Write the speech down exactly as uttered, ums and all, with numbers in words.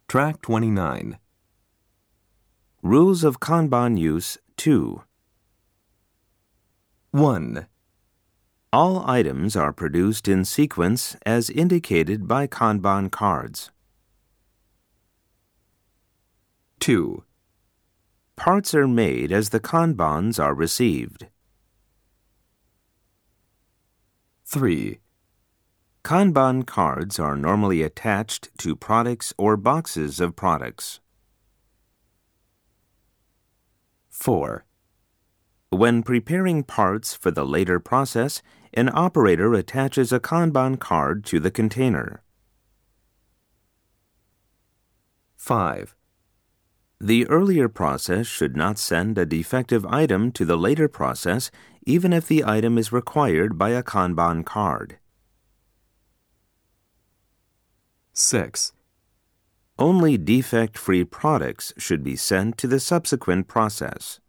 Track twenty-nine. Rules of Kanban Use two. one. All items are produced in sequence as indicated by Kanban cards. two. Parts are made as the Kanbans are received. three. Kanban cards are normally attached to products or boxes of products. four. When preparing parts for the later process, an operator attaches a Kanban card to the container. five. The earlier process should not send a defective item to the later process even if the item is required by a Kanban card. six. Only defect-free products should be sent to the subsequent process.